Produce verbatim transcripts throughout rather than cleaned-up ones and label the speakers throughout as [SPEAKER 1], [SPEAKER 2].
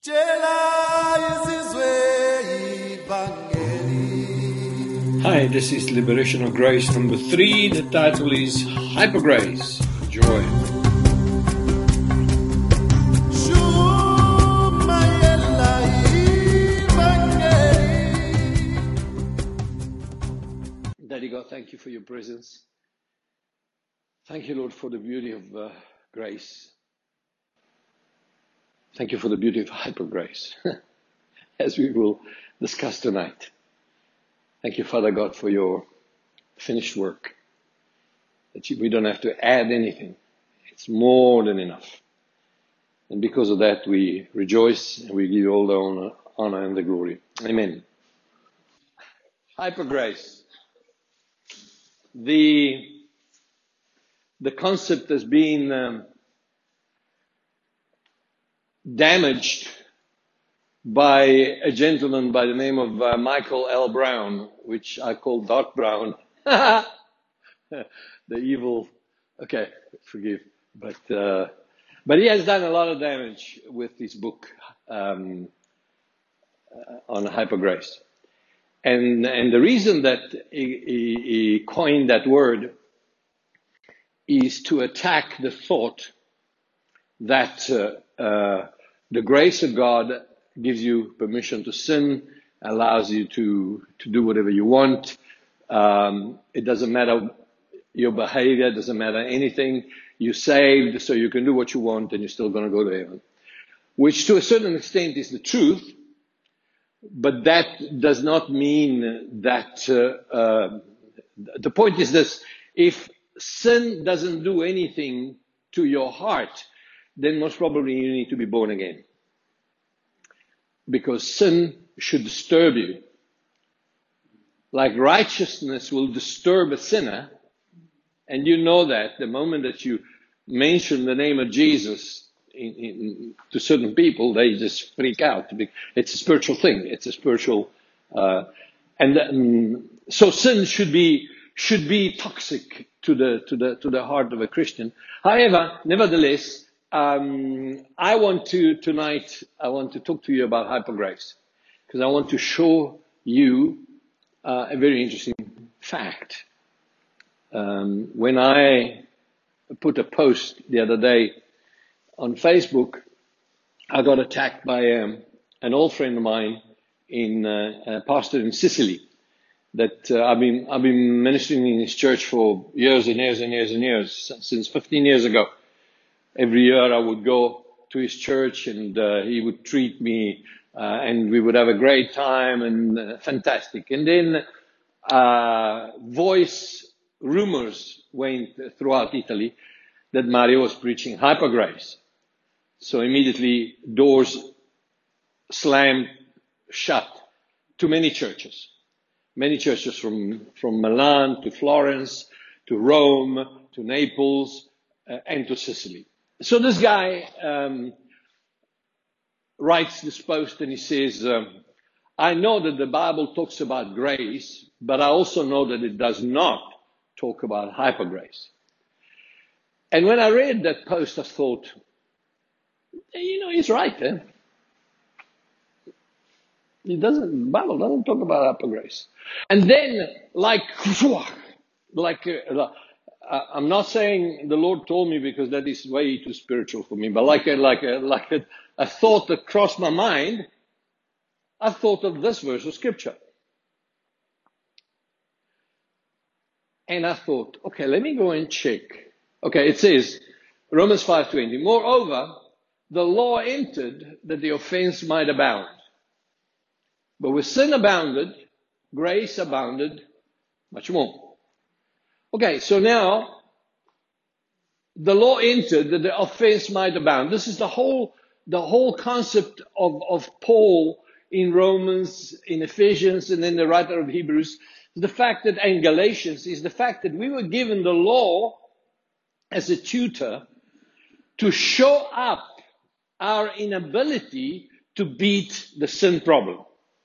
[SPEAKER 1] Hi, this is Liberation of Grace number three. The title is Hyper Grace. Enjoy. Daddy God, thank you for your presence. Thank you, Lord, for the beauty of uh, grace. Thank you for the beauty of hyper grace, as we will discuss tonight. Thank you, Father God, for your finished work. That we don't have to add anything. It's more than enough. And because of that, we rejoice and we give you all the honor, honor and the glory. Amen. Hyper grace. The, the concept has been um, damaged by a gentleman by the name of uh, Michael L. Brown, which I call Doc Brown. The evil, okay, forgive. But uh, but he has done a lot of damage with his book um, uh, on hyper grace. And, and the reason that he, he, he coined that word is to attack the thought that uh, uh, the grace of God gives you permission to sin, allows you to, to do whatever you want. Um, it doesn't matter your behavior, it doesn't matter anything. You're saved, so you can do what you want and you're still going to go to heaven. Which to a certain extent is the truth, but that does not mean that, uh, uh, the point is this: if sin doesn't do anything to your heart, then most probably you need to be born again. Because sin should disturb you. Like righteousness will disturb a sinner, and you know that the moment that you mention the name of Jesus in, in, to certain people, they just freak out. It's a spiritual thing. It's a spiritual, uh, and um, so sin should be should be toxic to the to the to the heart of a Christian. However, nevertheless, um, I want to tonight. I want to talk to you about hyper grace because I want to show you uh, a very interesting fact. Um, when I put a post the other day on Facebook, I got attacked by um, an old friend of mine, in uh, a pastor in Sicily. That uh, I've been I've been ministering in his church for years and years and years and years, since fifteen years ago. Every year I would go to his church and uh, he would treat me uh, and we would have a great time and uh, fantastic. And then uh, voice rumors went throughout Italy that Mario was preaching hyper grace. So immediately doors slammed shut to many churches. Many churches from, from Milan to Florence to Rome to Naples uh, and to Sicily. So this guy um, writes this post and he says, um, I know that the Bible talks about grace, but I also know that it does not talk about hyper grace. And when I read that post, I thought, you know, he's right, eh? It doesn't, the Bible doesn't talk about hyper grace. And then, like, like, uh, I'm not saying the Lord told me because that is way too spiritual for me, but like a, like a, like a, a thought that crossed my mind, I thought of this verse of scripture. And I thought, okay, let me go and check. Okay, it says, Romans five twenty, moreover, the law entered that the offense might abound. But where sin abounded, grace abounded much more. Okay, so now, the law entered that the offense might abound. This is the whole, the whole concept of, of Paul in Romans, in Ephesians, and then the writer of Hebrews. The fact that, and Galatians, is the fact that we were given the law as a tutor to show up our inability to beat the sin problem.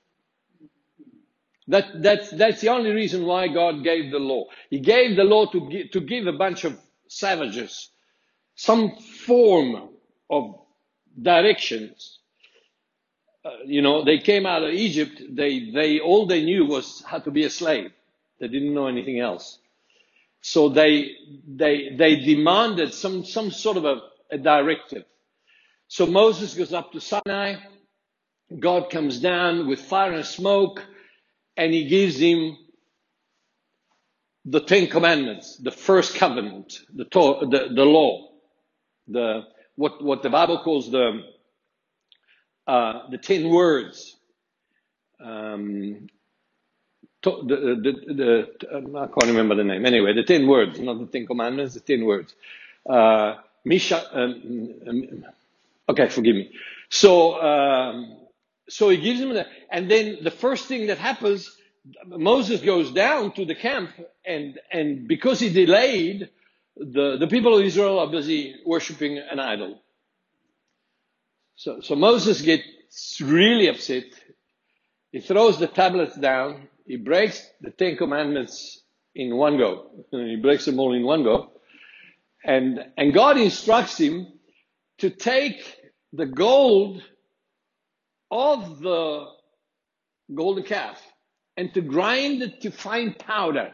[SPEAKER 1] That, that's, that's the only reason why God gave the law. He gave the law to give, to give a bunch of savages some form of directions uh, you know, they came out of Egypt. They, they, all they knew was how to be a slave. They didn't know anything else. So they, they, they demanded some, some sort of a, a directive. So Moses goes up to Sinai. God comes down with fire and smoke, and he gives him the Ten Commandments, the first covenant, the the, the law, the what what the Bible calls the uh, the ten words. Um, to, the, the, the, the, I can't remember the name. Anyway, the ten words, not the Ten Commandments, the ten words. Uh, Misha, um, um, okay, forgive me. So, um, so he gives him that, and then the first thing that happens, Moses goes down to the camp, and and because he delayed, the the people of Israel are busy worshiping an idol. So, so Moses gets really upset. He throws the tablets down. He breaks the Ten Commandments in one go. He breaks them all in one go. And, and God instructs him to take the gold of the golden calf and to grind it to fine powder.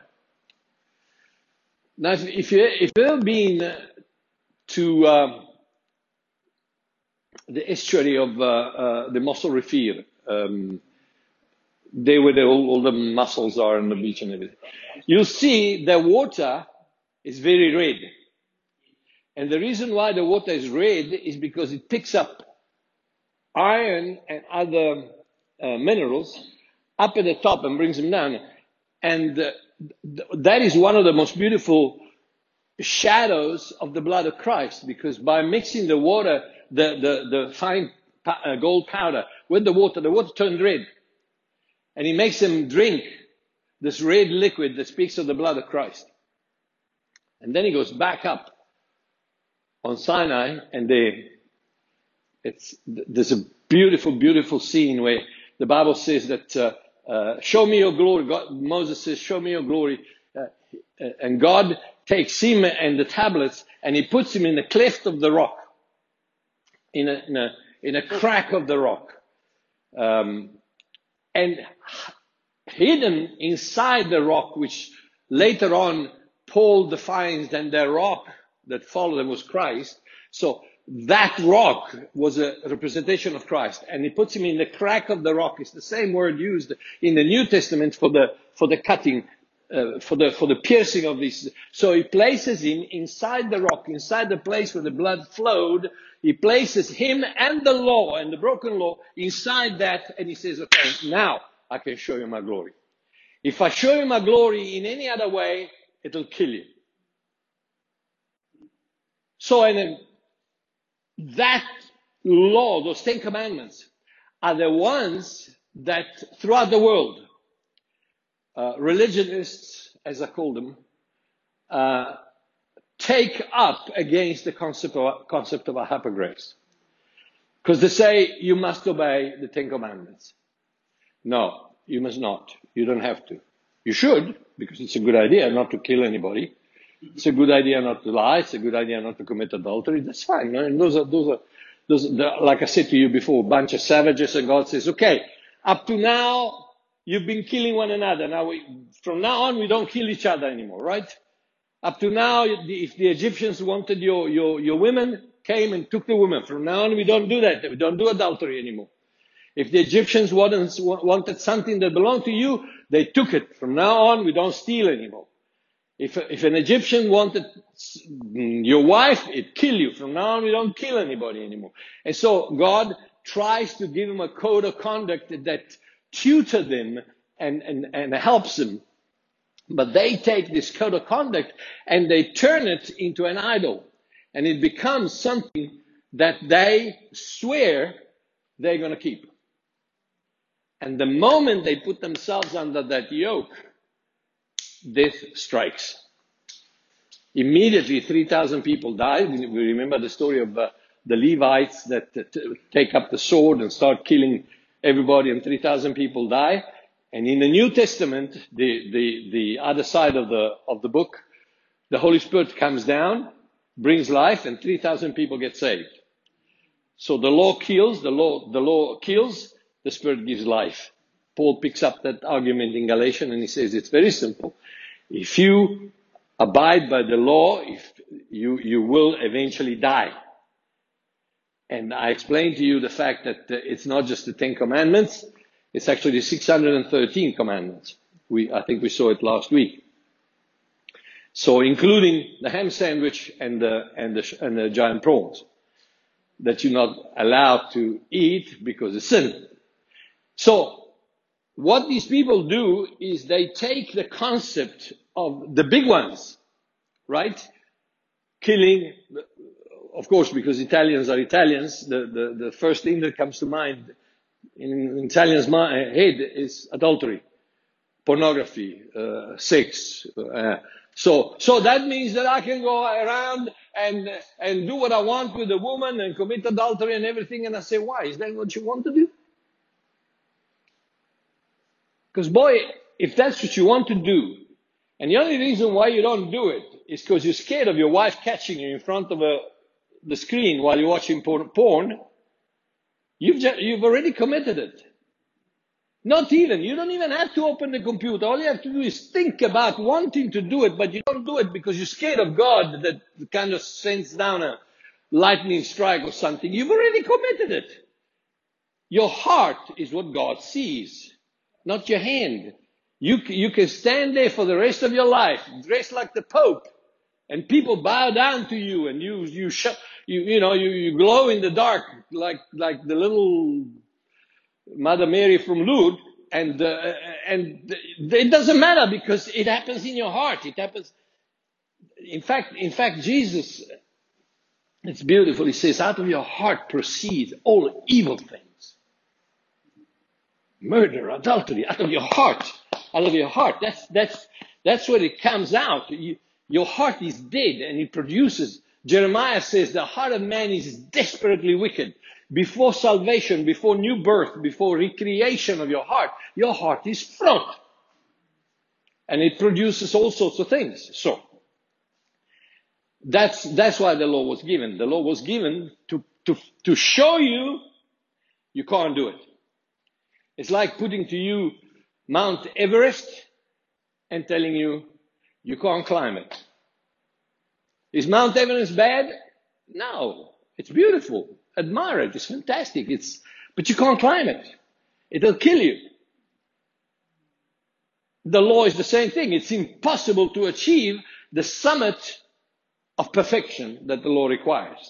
[SPEAKER 1] Now, if, if, you, if you've ever been to um, the estuary of uh, uh, the Mos Rifir, um, there where the, all, all the mussels are on the beach and everything, you'll see the water is very red. And the reason why the water is red is because it picks up iron and other uh, minerals up at the top and brings them down. And uh, th- that is one of the most beautiful shadows of the blood of Christ, because by mixing the water, the, the, the fine uh, gold powder with the water, the water turned red. And he makes them drink this red liquid that speaks of the blood of Christ. And then he goes back up on Sinai, and they, it's, there's a beautiful, beautiful scene where the Bible says that, uh, uh, show me your glory. God, Moses says, show me your glory. Uh, and God takes him and the tablets, and he puts him in the cleft of the rock, in a, in a, in a crack of the rock. Um, and hidden inside the rock, which later on Paul defines that the rock that followed them was Christ. So that rock was a representation of Christ, and he puts him in the crack of the rock. It's the same word used in the New Testament for the for the cutting, uh, for the for the piercing of this. So he places him inside the rock, inside the place where the blood flowed. He places him and the law and the broken law inside that, and he says, "Okay, now I can show you my glory. If I show you my glory in any other way, it'll kill you." So, and that law, those Ten Commandments, are the ones that throughout the world, uh, religionists, as I call them, uh, take up against the concept of, concept of a hypergrace. Because they say you must obey the Ten Commandments. No, you must not. You don't have to. You should, because it's a good idea not to kill anybody. It's a good idea not to lie. It's a good idea not to commit adultery. That's fine. And those are, those are, those are, like I said to you before, a bunch of savages, and God says, okay, up to now, you've been killing one another. Now we, from now on, we don't kill each other anymore, right? Up to now, if the Egyptians wanted your, your, your women, came and took the women. From now on, we don't do that. We don't do adultery anymore. If the Egyptians wanted, wanted something that belonged to you, they took it. From now on, we don't steal anymore. If, if an Egyptian wanted your wife, it'd kill you. From now on, we don't kill anybody anymore. And so God tries to give them a code of conduct that tutor them and, and, and helps them. But they take this code of conduct and they turn it into an idol. And it becomes something that they swear they're going to keep. And the moment they put themselves under that yoke, death strikes. Immediately, three thousand people died. We remember the story of uh, the Levites that uh, t- take up the sword and start killing everybody, and three thousand people die. And in the New Testament, the, the, the other side of the, of the book, the Holy Spirit comes down, brings life, and three thousand people get saved. So the law kills, the law, the law kills, the Spirit gives life. Paul picks up that argument in Galatians and he says it's very simple. If you abide by the law, if you, you will eventually die. And I explained to you the fact that it's not just the Ten Commandments, it's actually six hundred thirteen commandments. We, I think we saw it last week. So including the ham sandwich and the, and the, and the giant prawns that you're not allowed to eat because it's sin. So what these people do is they take the concept of the big ones, right? Killing, of course, because Italians are Italians, the, the, the first thing that comes to mind in Italians' head is adultery, pornography, uh, sex. Uh, so, so that means that I can go around and and do what I want with a woman and commit adultery and everything. And I say, why? Is that what you want to do? Because boy, if that's what you want to do, and the only reason why you don't do it is because you're scared of your wife catching you in front of a, the screen while you're watching porn, you've just, you've already committed it. Not even. You don't even have to open the computer. All you have to do is think about wanting to do it, but you don't do it because you're scared of God that kind of sends down a lightning strike or something. You've already committed it. Your heart is what God sees, not your hand. You, you can stand there for the rest of your life, dressed like the Pope, and people bow down to you, and you, you, sh- you, you know, you, you glow in the dark like, like the little Mother Mary from Lourdes, and uh, and it doesn't matter because it happens in your heart. It happens. In fact, in fact, Jesus, it's beautiful. He says, "Out of your heart proceed all evil things, murder, adultery. Out of your heart, out of your heart. That's that's that's where it comes out. You, your heart is dead, and it produces." Jeremiah says, "The heart of man is desperately wicked." Before salvation, before new birth, before recreation of your heart, your heart is front. And it produces all sorts of things. So, that's, that's why the law was given. The law was given to, to, to show you you can't do it. It's like putting to you Mount Everest and telling you you can't climb it. Is Mount Everest bad? No. It's beautiful. Admire it. It's fantastic. It's, but you can't climb it. It'll kill you. The law is the same thing. It's impossible to achieve the summit of perfection that the law requires.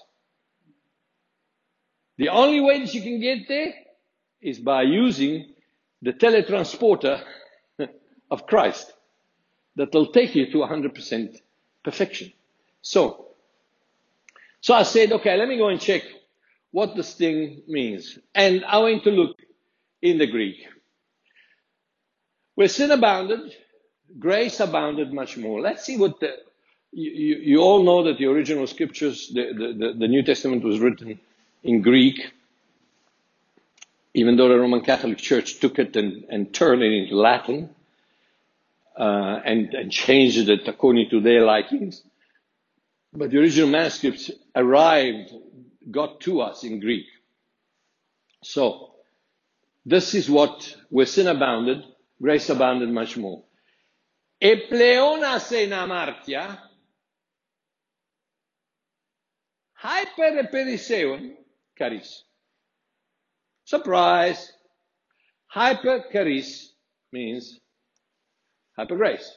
[SPEAKER 1] The only way that you can get there is by using the teletransporter of Christ that will take you to one hundred percent perfection. So, so I said, okay, let me go and check what this thing means. And I went to look in the Greek. Where sin abounded, grace abounded much more. Let's see what the, you, you, you all know that the original scriptures, the, the, the New Testament was written in Greek, even though the Roman Catholic Church took it and, and turned it into Latin, uh, and, and changed it according to their likings. But the original manuscripts arrived, got to us in Greek. So, this is what, where sin abounded, grace abounded much more. E pleonas en amartia, hyper periseon charis. Surprise! Hyper charis means hyper grace.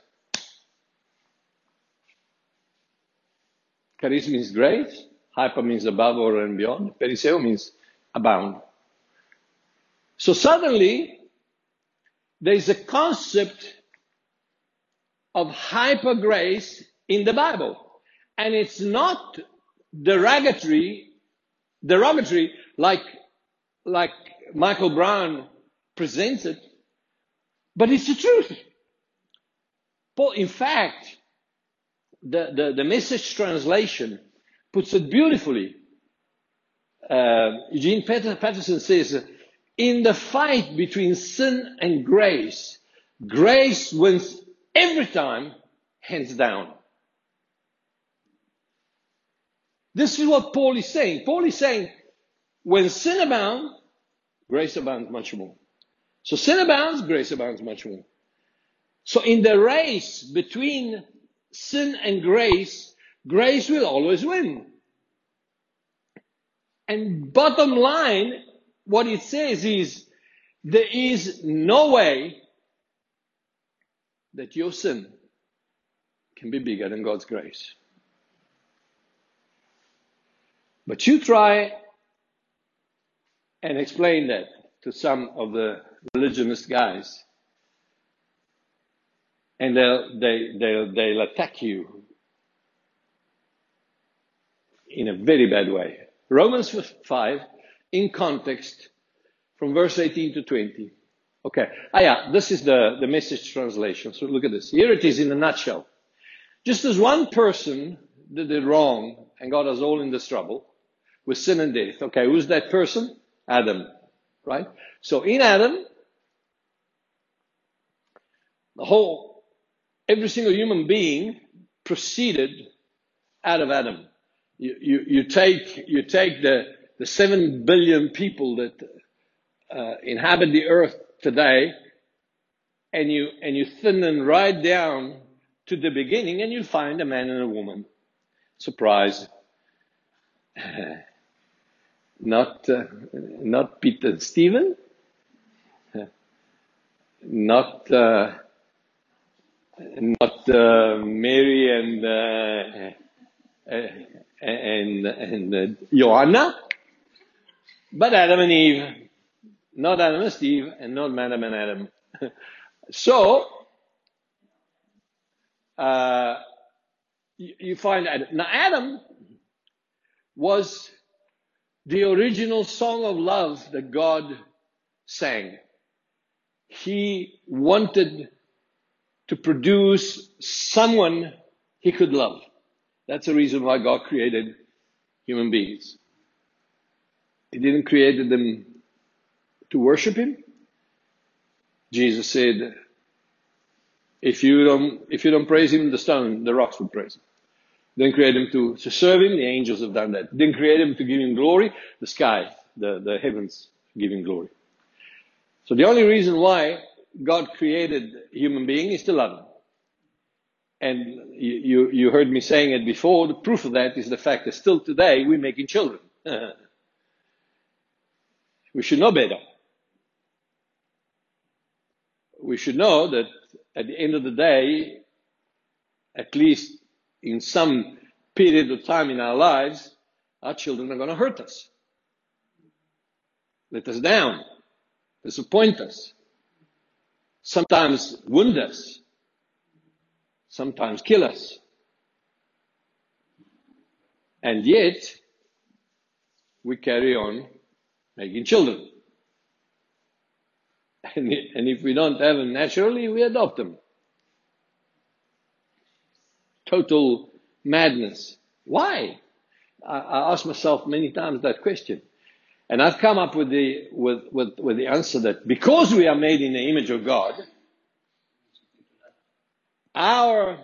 [SPEAKER 1] Charis means grace. Hyper means above or and beyond. Periseo means abound. So suddenly, there is a concept of hyper grace in the Bible. And it's not derogatory, derogatory like, like Michael Brown presents it, but it's the truth. Paul, in fact, the, the, the Message translation puts it beautifully. Uh, Eugene Peterson says, in the fight between sin and grace, grace wins every time, hands down. This is what Paul is saying. Paul is saying, when sin abounds, grace abounds much more. So sin abounds, grace abounds much more. So in the race between sin and grace, grace will always win. And bottom line, what it says is, there is no way that your sin can be bigger than God's grace. But you try and explain that to some of the religionist guys, and they'll, they, they'll, they'll attack you in a very bad way. Romans five, in context, from verse eighteen to twenty. Okay. Ah, yeah, this is the, the Message translation. So look at this. Here it is in a nutshell. Just as one person did it wrong and got us all in this trouble with sin and death. Okay, who's that person? Adam. Right? So in Adam, the whole, every single human being proceeded out of Adam. You, you, you take, you take the, the seven billion people that uh, inhabit the earth today, and you, and you thin them right down to the beginning, and you find a man and a woman. Surprise. Not, uh, not Peter and Stephen. Not, uh, not uh, Mary and uh, uh, and and uh, Joanna, but Adam and Eve. Not Adam and Steve, and not Madam and Adam. So uh, you, you find Adam. Now Adam was the original song of love that God sang. He wanted to produce someone he could love. That's the reason why God created human beings. He didn't create them to worship him. Jesus said, if you don't, if you don't praise him, the stone, the rocks will praise him. Didn't create him to, to serve him, the angels have done that. Didn't create him to give him glory, the sky, the, the heavens give him glory. So the only reason why God created human being is to love him. And you, you, you heard me saying it before, the proof of that is the fact that still today we're making children. We should know better. We should know that at the end of the day, at least in some period of time in our lives, our children are going to hurt us, let us down, disappoint us, sometimes wound us, sometimes kill us. And yet, we carry on making children. And, and if we don't have them naturally, we adopt them. Total madness. Why? I, I ask myself many times that question. And I've come up with the, with, with, with the answer that because we are made in the image of God, our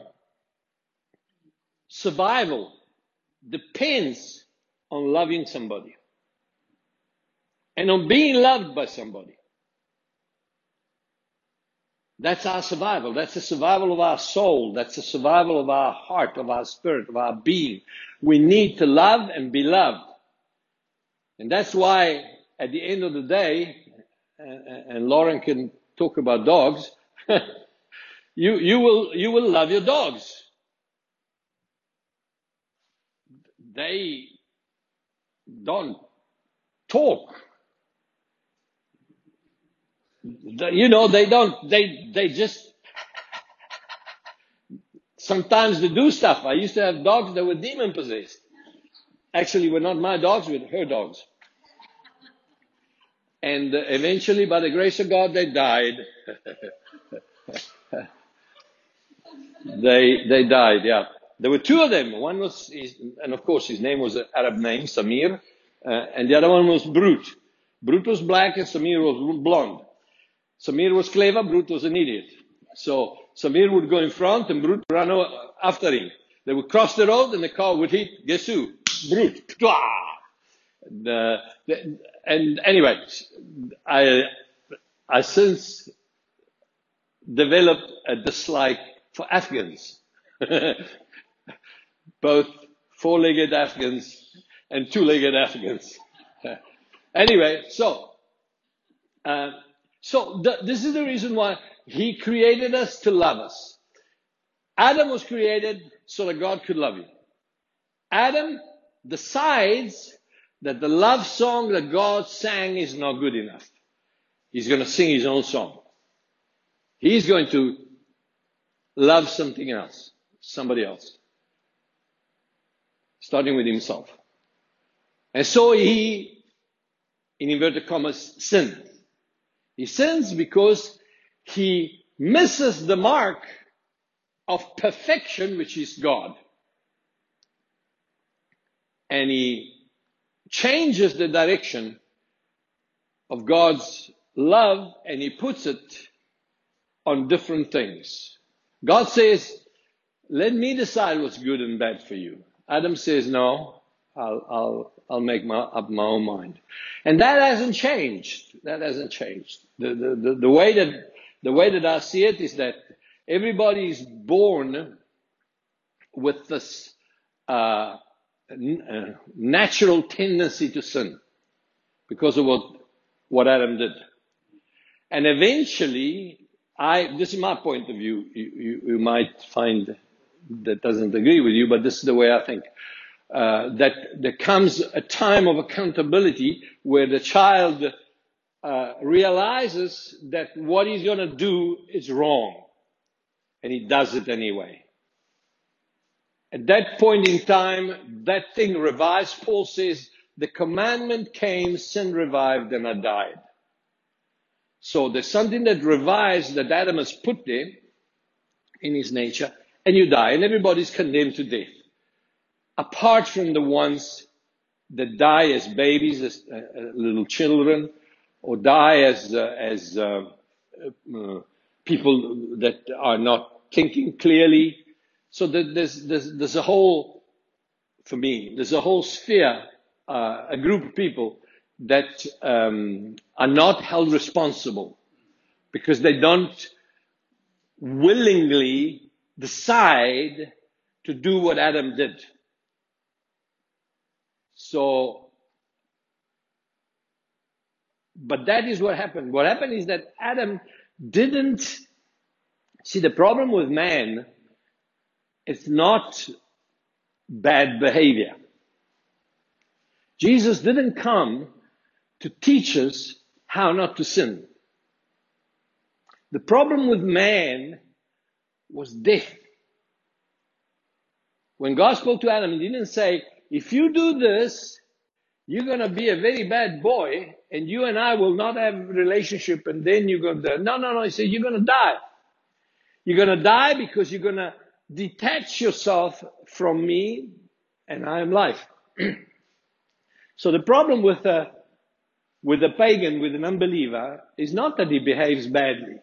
[SPEAKER 1] survival depends on loving somebody and on being loved by somebody. That's our survival. That's the survival of our soul. That's the survival of our heart, of our spirit, of our being. We need to love and be loved. And that's why at the end of the day, and Lauren can talk about dogs, you, you will, you will love your dogs. They don't talk. You know, they don't, they, they just, sometimes they do stuff. I used to have dogs that were demon possessed. Actually, were not my dogs, were her dogs. And uh, eventually, by the grace of God, they died. they, they died, yeah. There were two of them. One was, his, and of course, his name was an Arab name, Samir. Uh, and the other one was Brute. Brute was black and Samir was blonde. Samir was clever, Brute was an idiot. So Samir would go in front and Brute would run after him. They would cross the road and the car would hit, guess who? Brute. The, the and anyway, I I since developed a dislike for Afghans, both four-legged Afghans and two-legged Afghans. Anyway, so uh, so th- this is the reason why He created us to love us. Adam was created so that God could love you. Adam decides that the love song that God sang is not good enough. He's going to sing his own song. He's going to love something else, somebody else, starting with himself. And so he, in inverted commas, sins. He sins because he misses the mark of perfection, which is God. And he changes the direction of God's love and he puts it on different things. God says, let me decide what's good and bad for you. Adam says, no, I'll, I'll, I'll make my, up my own mind. And that hasn't changed. That hasn't changed. The, the, the, the way that, the way that I see it is that everybody is born with this, uh, n- uh, natural tendency to sin because of what, what Adam did. And eventually, I, this is my point of view. You, you, you might find that doesn't agree with you, but this is the way I think. Uh, that there comes a time of accountability where the child uh, realizes that what he's going to do is wrong, and he does it anyway. At that point in time, that thing revives. Paul says, the commandment came, sin revived, and I died. So there's something that revives that Adam has put there in his nature, and you die, and everybody's condemned to death. Apart from the ones that die as babies, as uh, little children, or die as uh, as uh, uh, people that are not thinking clearly. So that there's, there's there's a whole, for me, there's a whole sphere, uh, a group of people that um, are not held responsible because they don't willingly decide to do what Adam did. So, but that is what happened. What happened is that Adam didn't see the problem with man. It's not bad behavior. Jesus didn't come to teach us how not to sin. The problem with man was death. When God spoke to Adam, he didn't say, if you do this, you're going to be a very bad boy, and you and I will not have a relationship, and then you're going to... No, no, no. He said, you're going to die. You're going to die because you're going to detach yourself from me, and I am life. So the problem with a, with a pagan, with an unbeliever, is not that he behaves badly.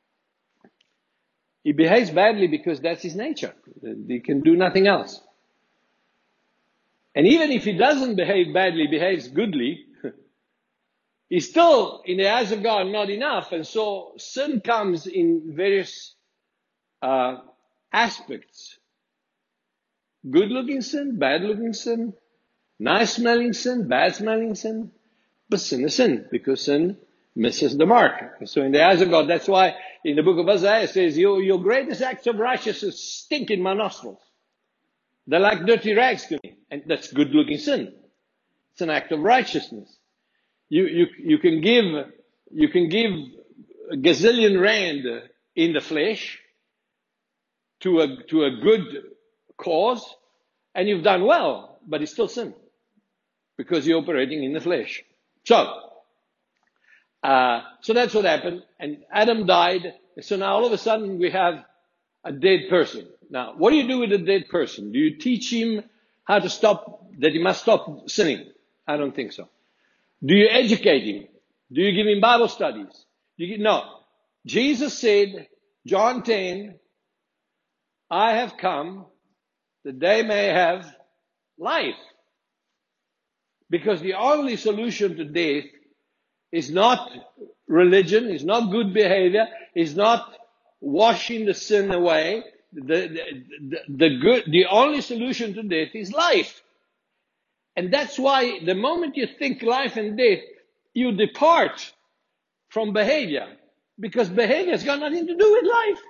[SPEAKER 1] He behaves badly because that's his nature. He can do nothing else. And even if he doesn't behave badly, behaves goodly, he's still, in the eyes of God, not enough. And so sin comes in various uh, aspects. Good-looking sin, bad-looking sin, nice-smelling sin, bad-smelling sin. But sin is sin, because sin misses the mark. So in the eyes of God, that's why in the book of Isaiah it says, your, your greatest acts of righteousness stink in my nostrils. They're like dirty rags to me. And that's good-looking sin. It's an act of righteousness. You, you, you can give, you can give a gazillion rand in the flesh to a, to a good cause, and you've done well, but it's still sin. Because you're operating in the flesh. So, uh, so that's what happened. And Adam died. So now all of a sudden we have a dead person. Now, what do you do with a dead person? Do you teach him how to stop, that he must stop sinning? I don't think so. Do you educate him? Do you give him Bible studies? Do you, no. Jesus said, John ten, I have come that they may have life. Because the only solution to death is not religion, is not good behavior, is not washing the sin away. The, the, the, the, good, the only solution to death is life. And that's why the moment you think life and death, you depart from behavior. Because behavior has got nothing to do with life.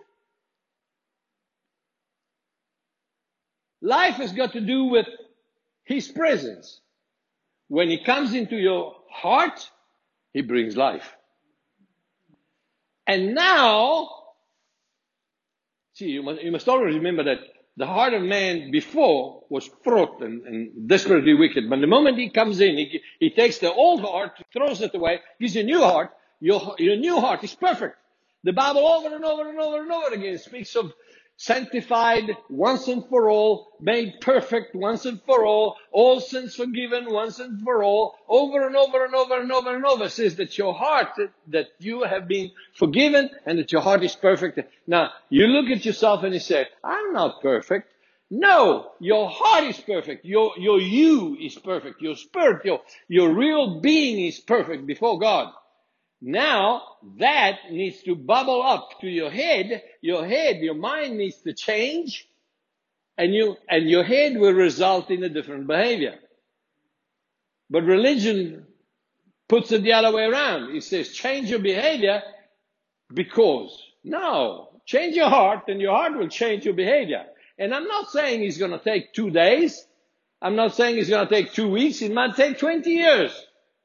[SPEAKER 1] Life has got to do with His presence. When He comes into your heart, He brings life. And now, see, you must, you must always remember that the heart of man before was fraught and, and desperately wicked. But the moment he comes in, he, he takes the old heart, throws it away, gives you a new heart. Your, your new heart is perfect. The Bible over and over and over and over again speaks of sanctified once and for all, made perfect once and for all, all sins forgiven once and for all, over and over and over and over and over, says that your heart, that you have been forgiven and that your heart is perfect. Now, you look at yourself and you say, I'm not perfect. No, your heart is perfect. Your, your you is perfect. Your spirit, your, your real being is perfect before God. Now, that needs to bubble up to your head. Your head, your mind needs to change. And you, and your head will result in a different behavior. But religion puts it the other way around. It says, change your behavior because. No, change your heart and your heart will change your behavior. And I'm not saying it's going to take two days. I'm not saying it's going to take two weeks. It might take twenty years.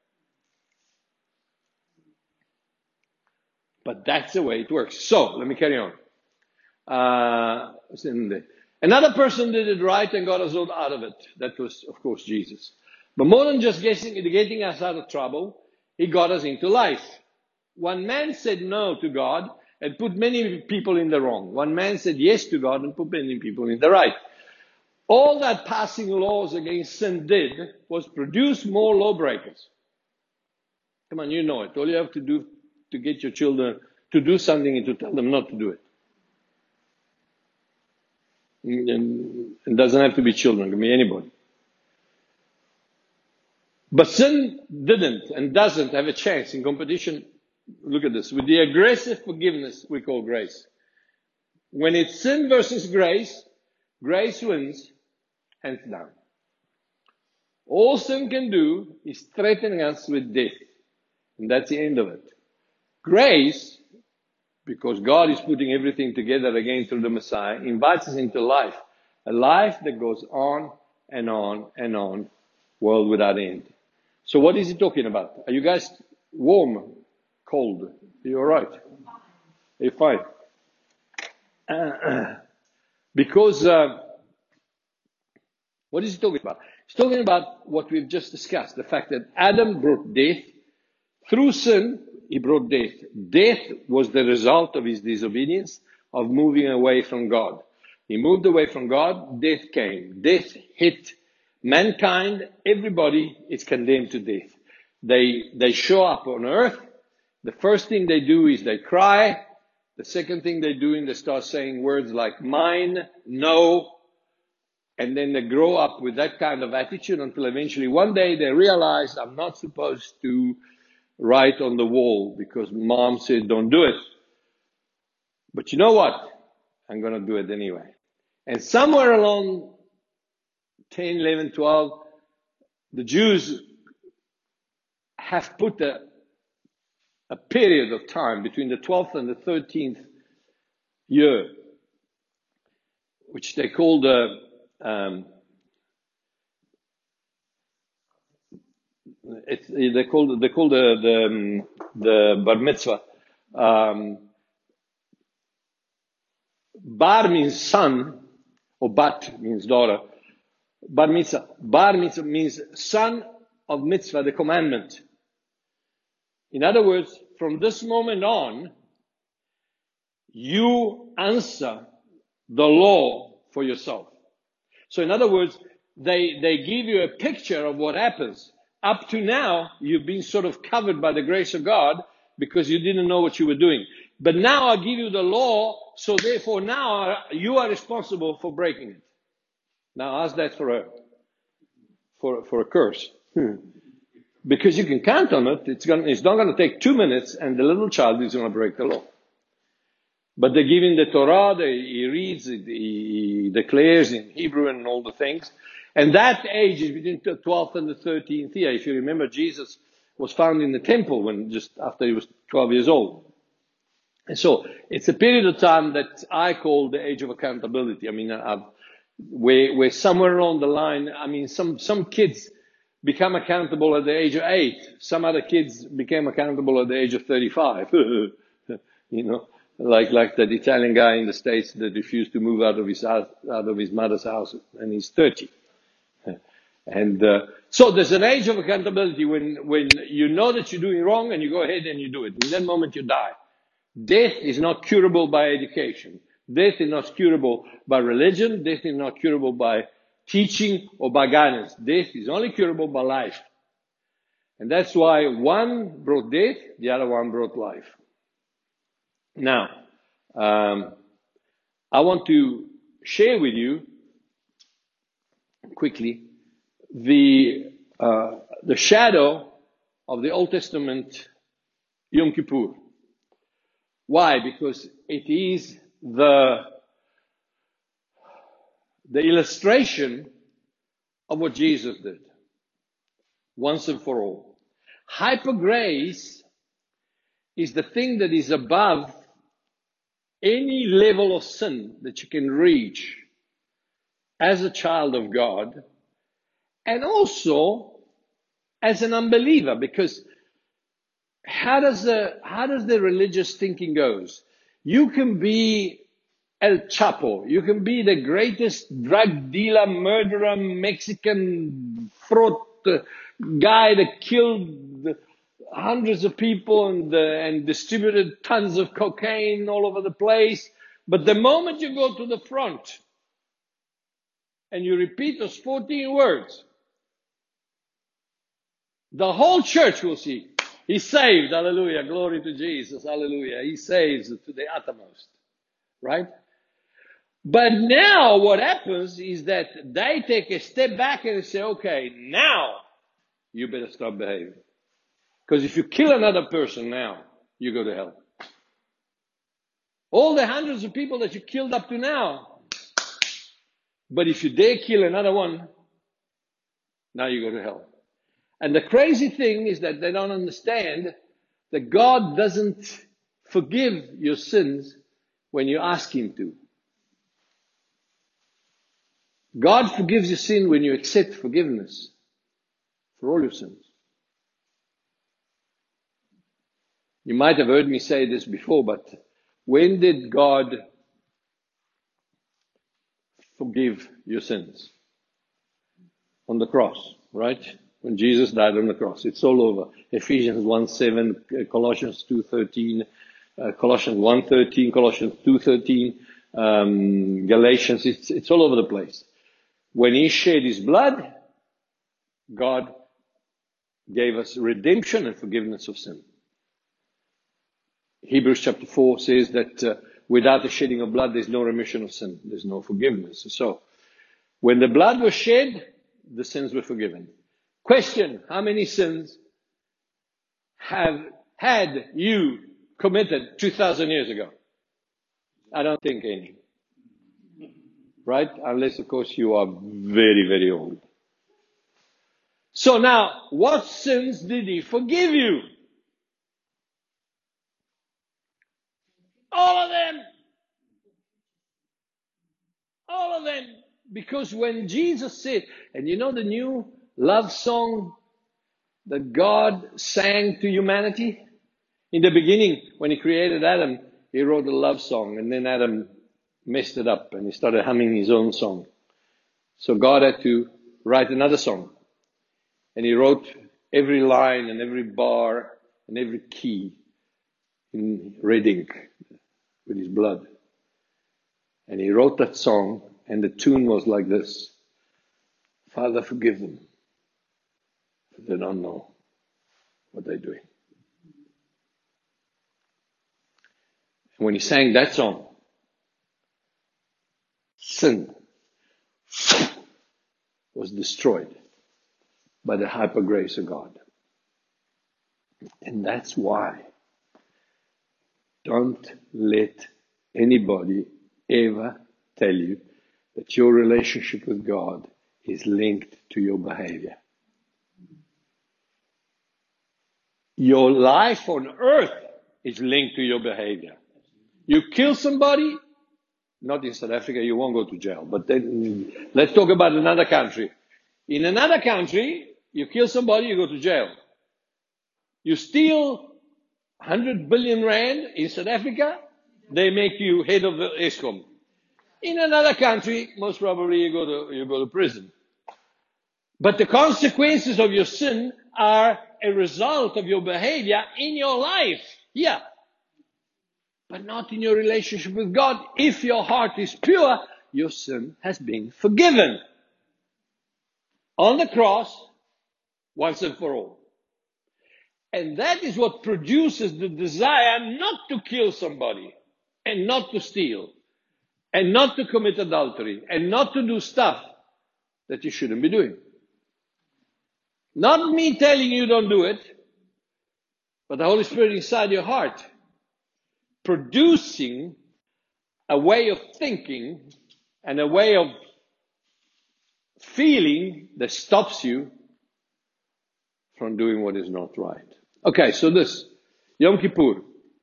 [SPEAKER 1] But that's the way it works. So, let me carry on. Uh, another person did it right and got us out of it. That was, of course, Jesus. But more than just getting, getting us out of trouble, He got us into life. One man said no to God and put many people in the wrong. One man said yes to God and put many people in the right. All that passing laws against sin did was produce more lawbreakers. Come on, you know it. All you have to do to get your children to do something and to tell them not to do it. And it doesn't have to be children, it can be anybody. But sin didn't and doesn't have a chance in competition. Look at this. With the aggressive forgiveness we call grace. When it's sin versus grace, grace wins, hands down. All sin can do is threaten us with death. And that's the end of it. Grace, because God is putting everything together again through the Messiah, invites us into life. A life that goes on and on and on, world without end. So what is he talking about? Are you guys warm? Cold? Are you alright? Are you fine? Uh, because, uh, what is he talking about? He's talking about what we've just discussed. The fact that Adam brought death. Through sin, he brought death. Death was the result of his disobedience, of moving away from God. He moved away from God, death came. Death hit mankind. Everybody is condemned to death. They, they show up on earth. The first thing they do is they cry. The second thing they do is they start saying words like mine, no. And then they grow up with that kind of attitude until eventually one day they realize I'm not supposed to write on the wall because mom said don't do it. But you know what? I'm going to do it anyway. And somewhere along ten, eleven, twelve, the Jews have put a, a period of time between the twelfth and the thirteenth year, which they call the um, It's, they call they call the the, the bar mitzvah. Um, bar means son, or bat means daughter. Bar mitzvah. Bar mitzvah means son of mitzvah, the commandment. In other words, from this moment on, you answer the law for yourself. So in other words, they they give you a picture of what happens. Up to now, you've been sort of covered by the grace of God because you didn't know what you were doing. But now I give you the law, so therefore now you are responsible for breaking it. Now ask that for a, for, for a curse. Hmm. Because you can count on it. It's, gonna, it's not going to take two minutes and the little child is going to break the law. But they give him the Torah, they, he reads, he, he declares in Hebrew and all the things. And that age is between the twelfth and the thirteenth year. If you remember, Jesus was found in the temple when just after he was twelve years old. And so it's a period of time that I call the age of accountability. I mean, I've, where, where somewhere along the line, I mean, some, some kids become accountable at the age of eight. Some other kids became accountable at the age of thirty-five. You know, like, like that Italian guy in the States that refused to move out of his house, out of his mother's house, and he's thirty. And, uh, so there's an age of accountability when, when you know that you're doing wrong and you go ahead and you do it. In that moment you die. Death is not curable by education. Death is not curable by religion. Death is not curable by teaching or by guidance. Death is only curable by life. And that's why one brought death, the other one brought life. Now, um, I want to share with you quickly the, uh, the shadow of the Old Testament Yom Kippur. Why? Because it is the, the illustration of what Jesus did, once and for all. Hyper grace is the thing that is above any level of sin that you can reach as a child of God, and also as an unbeliever, because how does the, how does the religious thinking goes? You can be El Chapo, you can be the greatest drug dealer, murderer, Mexican fraud guy that killed hundreds of people and, uh, and distributed tons of cocaine all over the place. But the moment you go to the front and you repeat those fourteen words, the whole church will see, he's saved, hallelujah, glory to Jesus, hallelujah. He saves to the uttermost, right? But now what happens is that they take a step back and say, okay, now you better start behaving. Because if you kill another person now, you go to hell. All the hundreds of people that you killed up to now, but if you dare kill another one, now you go to hell. And the crazy thing is that they don't understand that God doesn't forgive your sins when you ask Him to. God forgives your sin when you accept forgiveness for all your sins. You might have heard me say this before, but when did God forgive your sins? On the cross, right? When Jesus died on the cross. It's all over. Ephesians one seven, Colossians two thirteen, uh, Colossians one thirteen, Colossians two thirteen, um, Galatians. It's, it's all over the place. When He shed His blood, God gave us redemption and forgiveness of sin. Hebrews chapter four says that uh, without the shedding of blood, there's no remission of sin. There's no forgiveness. So, when the blood was shed, the sins were forgiven. Question, how many sins have had you committed two thousand years ago? I don't think any. Right? Unless, of course, you are very, very old. So now, what sins did He forgive you? All of them. All of them. Because when Jesus said, and you know the new love song that God sang to humanity? In the beginning, when He created Adam, He wrote a love song, and then Adam messed it up and he started humming his own song. So God had to write another song. And He wrote every line and every bar and every key in red ink with His blood. And He wrote that song, and the tune was like this: Father, forgive them, for they don't know what they're doing. And when He sang that song, sin was destroyed by the hyper grace of God. And that's why don't let anybody ever tell you that your relationship with God is linked to your behavior. Your life on earth is linked to your behavior. You kill somebody, not in South Africa, you won't go to jail. But then, let's talk about another country. In another country, you kill somebody, you go to jail. You steal one hundred billion rand in South Africa, they make you head of the ESCOM. In another country, most probably you go to, you go to prison. But the consequences of your sin are a result of your behavior in your life. Yeah. But not in your relationship with God. If your heart is pure, your sin has been forgiven. On the cross, once and for all. And that is what produces the desire not to kill somebody, and not to steal, and not to commit adultery, and not to do stuff that you shouldn't be doing. Not me telling you don't do it, but the Holy Spirit inside your heart producing a way of thinking and a way of feeling that stops you from doing what is not right. Okay, so this, Yom Kippur.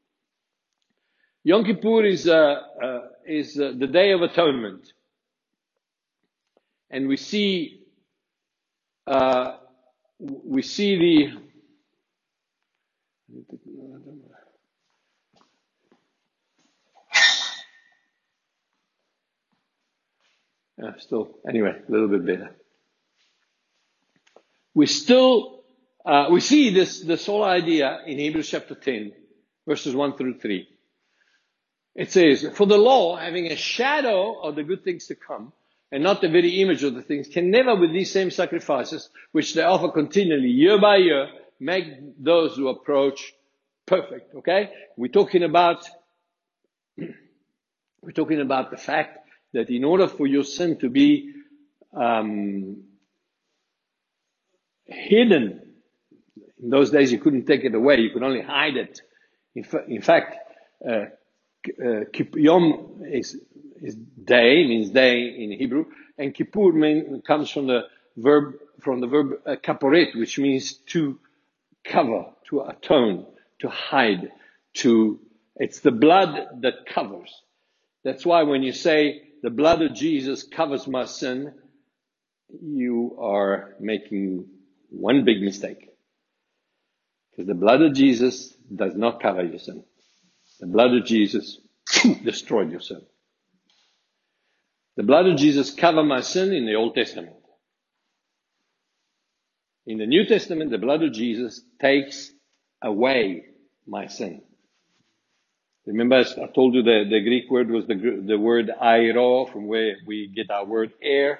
[SPEAKER 1] Yom Kippur is, uh, uh, is uh, the Day of Atonement. And we see, uh, we see the, uh, still, anyway, a little bit better. We still, uh, we see this, this whole idea in Hebrews chapter ten, verses one through three. It says, for the law, having a shadow of the good things to come, and not the very image of the things, can never with these same sacrifices, which they offer continually, year by year, make those who approach perfect. Okay? We're talking about, we're talking about the fact that in order for your sin to be um, hidden, in those days you couldn't take it away, you could only hide it. In, fa- in fact, uh, uh, Yom is, is day, means day in Hebrew, and Kippur mean, comes from the verb, from the verb uh, kaporet, which means to cover, to atone, to hide, to, it's the blood that covers. That's why when you say, the blood of Jesus covers my sin, you are making one big mistake. Because the blood of Jesus does not cover your sin. The blood of Jesus destroyed your sin. The blood of Jesus covered my sin in the Old Testament. In the New Testament, the blood of Jesus takes away my sin. Remember, I told you the, the Greek word was the, the word airo, from where we get our word air.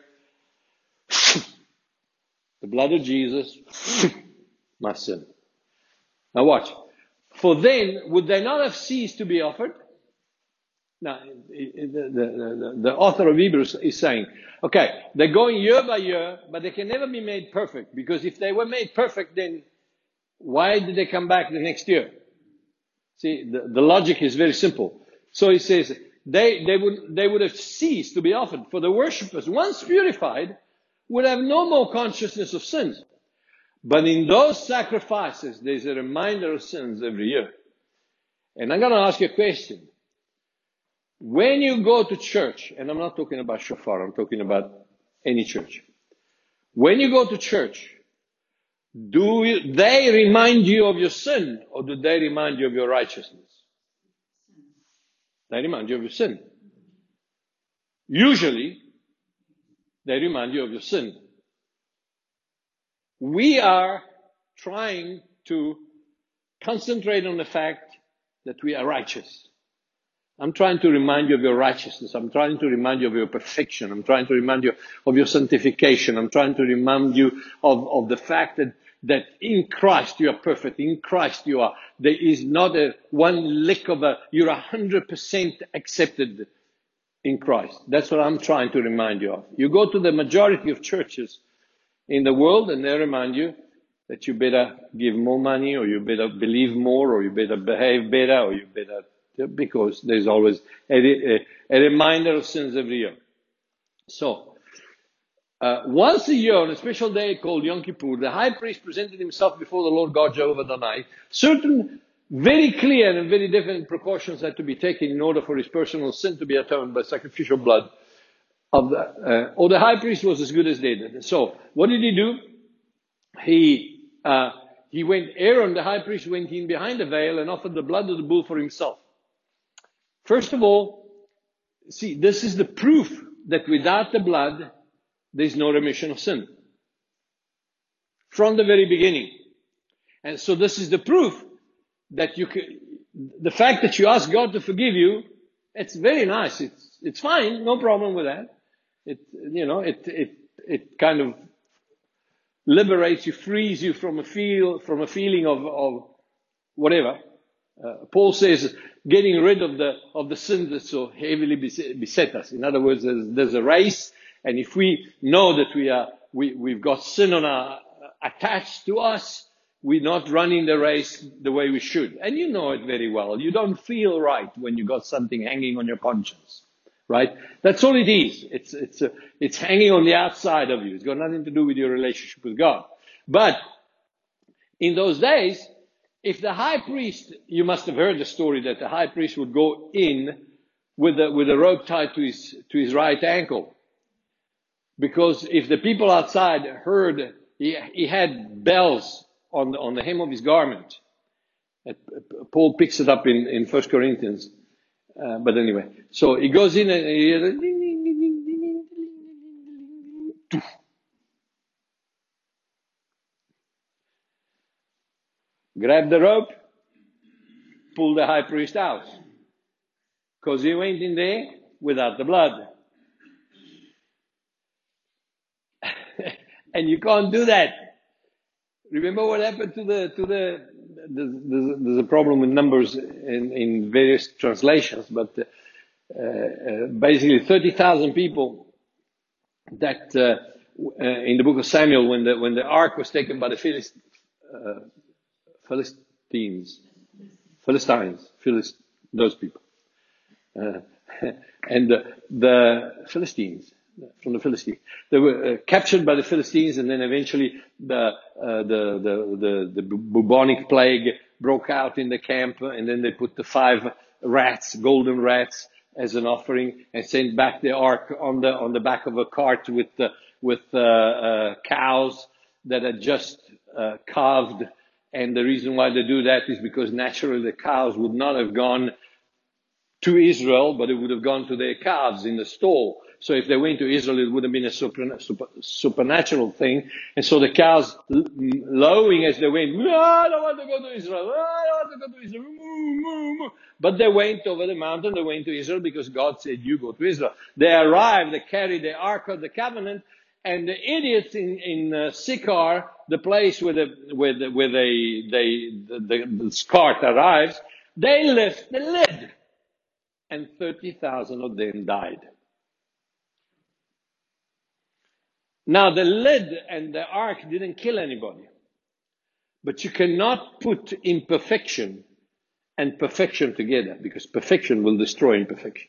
[SPEAKER 1] The blood of Jesus, my sin. Now watch. For then, would they not have ceased to be offered? Now, the, the, the, the author of Hebrews is saying, okay, they're going year by year, but they can never be made perfect. Because if they were made perfect, then why did they come back the next year? See, the, the logic is very simple. So he says, they, they would, they would have ceased to be offered. For the worshippers, once purified, would have no more consciousness of sins. But in those sacrifices, there's a reminder of sins every year. And I'm going to ask you a question. When you go to church, and I'm not talking about shofar, I'm talking about any church. When you go to church, do you, they remind you of your sin, or do they remind you of your righteousness? They remind you of your sin. Usually, they remind you of your sin. We are trying to concentrate on the fact that we are righteous. I'm trying to remind you of your righteousness. I'm trying to remind you of your perfection. I'm trying to remind you of your sanctification. I'm trying to remind you of, of the fact that, that in Christ you are perfect. In Christ you are. There is not a one lick of a, you're a hundred percent accepted in Christ. That's what I'm trying to remind you of. You go to the majority of churches in the world, and they remind you that you better give more money, or you better believe more, or you better behave better, or you better, because there's always a, a, a reminder of sins every year. So, uh, once a year, on a special day called Yom Kippur, the high priest presented himself before the Lord God Jehovah Adonai. Certain very clear and very definite precautions had to be taken in order for his personal sin to be atoned by sacrificial blood of the, uh, or the high priest was as good as dead. So, what did he do? He uh, he went. Aaron, the high priest, went in behind the veil and offered the blood of the bull for himself. First of all, see, this is the proof that without the blood, there is no remission of sin. From the very beginning. And so this is the proof that you can, the fact that you ask God to forgive you, it's very nice. It's, it's fine. No problem with that. It, you know, it, it, it kind of liberates you, frees you from a feel, from a feeling of, of whatever. Uh, Paul says, getting rid of the, of the sin that so heavily beset us. In other words, there's, there's a race, and if we know that we are, we, we've got sin on our, attached to us, we're not running the race the way we should. And you know it very well. You don't feel right when you got something hanging on your conscience, right? That's all it is. It's, it's, a, it's hanging on the outside of you. It's got nothing to do with your relationship with God. But in those days, if the high priest, you must have heard the story that the high priest would go in with a, with a rope tied to his, to his right ankle. Because if the people outside heard, he, he had bells on the, on the hem of his garment. Paul picks it up in, in First Corinthians. Uh, but anyway, so he goes in and he hears a ding, ding, ding, ding, ding, ding, ding. Grab the rope, pull the high priest out. Because he went in there without the blood. And you can't do that. Remember what happened to the, to the, there's, there's a problem with numbers in, in various translations, but uh, uh, basically thirty thousand people that, uh, uh, in the book of Samuel, when the, when the ark was taken by the Philist, uh, Philistines, Philistines, Philist, those people, uh, and the, the Philistines, from the Philistines. They were uh, captured by the Philistines, and then eventually the, uh, the, the, the, the bubonic plague broke out in the camp, and then they put the five rats, golden rats, as an offering, and sent back the ark on the, on the back of a cart with, uh, with, uh, uh, cows that had just, uh, calved. And the reason why they do that is because naturally the cows would not have gone to Israel, but it would have gone to their calves in the stall. So if they went to Israel, it would have been a super, super, supernatural thing. And so the cows lowing as they went, oh, I don't want to go to Israel. Oh, I don't want to go to Israel. Moo, moo, moo. But they went over the mountain. They went to Israel because God said, you go to Israel. They arrived. They carried the Ark of the Covenant. And the idiots in, in uh, Sychar, the place where the, where the, where they, they, the, the, the cart arrives, they lift the lid. And thirty thousand of them died. Now, the lid and the ark didn't kill anybody. But you cannot put imperfection and perfection together, because perfection will destroy imperfection.